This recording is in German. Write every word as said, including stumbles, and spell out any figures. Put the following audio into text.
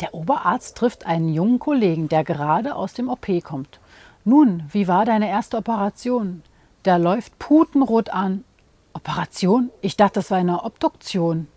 Der Oberarzt trifft einen jungen Kollegen, der gerade aus dem O P kommt. Nun, wie war deine erste Operation? Der läuft putenrot an. Operation? Ich dachte, das war eine Obduktion.